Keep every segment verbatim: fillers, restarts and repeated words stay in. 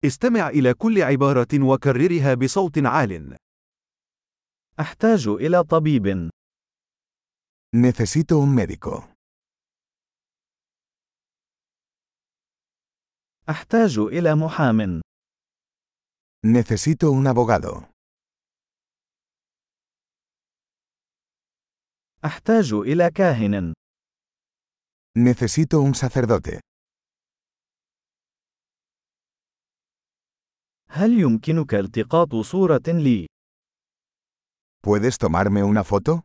استمع إلى كل عبارة وكررها بصوت عال. أحتاج إلى طبيب. Necesito un médico. أحتاج إلى محام. Necesito un abogado. أحتاج إلى كاهن. Necesito un sacerdote. هل يمكنك التقاط صورة لي؟ ¿Puedes tomarme una foto?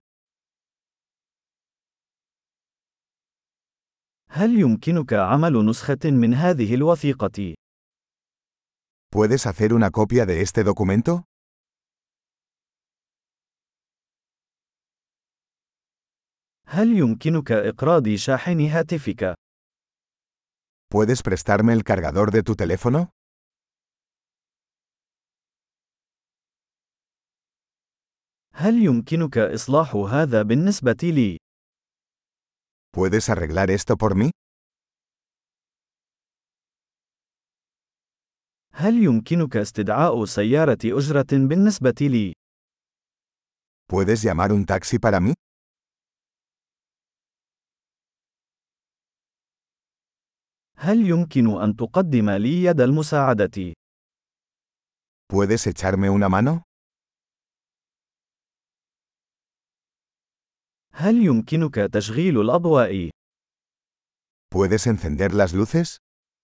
هل يمكنك عمل نسخة من هذه الوثيقة؟ ¿Puedes hacer una copia de este documento? هل يمكنك إقراض شاحن هاتفك؟ ¿Puedes prestarme el cargador de tu teléfono? هل يمكنك إصلاح هذا بالنسبة لي؟ ¿Puedes arreglar esto por mí? هل يمكنك استدعاء سيارة أجرة بالنسبة لي؟ ¿Puedes llamar un taxi para mí? هل يمكن أن تقدم لي يد المساعدة؟ ¿Puedes echarme una mano? هل يمكنك تشغيل الأضواء؟ ¿Puedes encender las luces?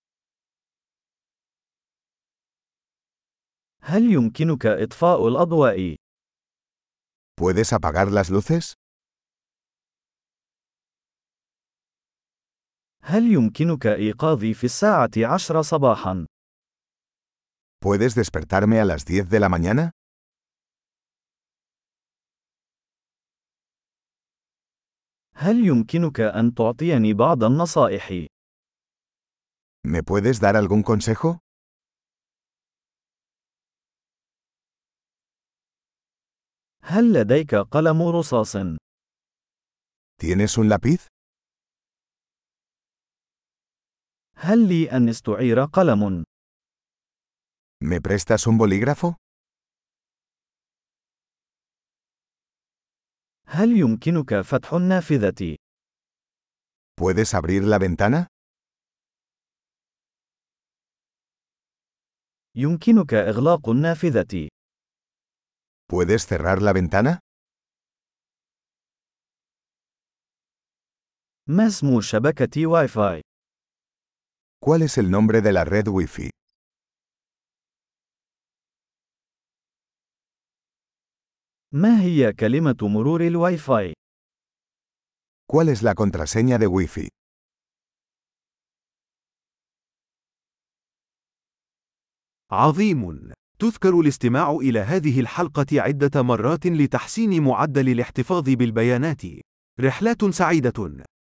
هل يمكنك إطفاء الأضواء؟ ¿Puedes apagar las luces? هل يمكنك إيقاظي في الساعة عشرة صباحا؟ ¿Puedes despertarme a las diez de la mañana? هل يمكنك أن تعطيني بعض النصائح؟ ¿Me puedes dar algún consejo? هل لديك قلم رصاص؟ ¿Tienes un lápiz? هل لي أن استعير قلم؟ ¿Me prestas un bolígrafo? هل يمكنك فتح النافذة؟ ¿Puedes abrir la ventana? يمكنك إغلاق النافذة. ¿Puedes cerrar la ventana? ما اسم شبكة واي فاي؟ ¿Cuál es el nombre de la red Wi-Fi? ما هي كلمة مرور الواي فاي؟ ¿Cuál es la contraseña de Wi-Fi? عظيم! تذكر الاستماع إلى هذه الحلقة عدة مرات لتحسين معدل الاحتفاظ بالبيانات. رحلات سعيدة!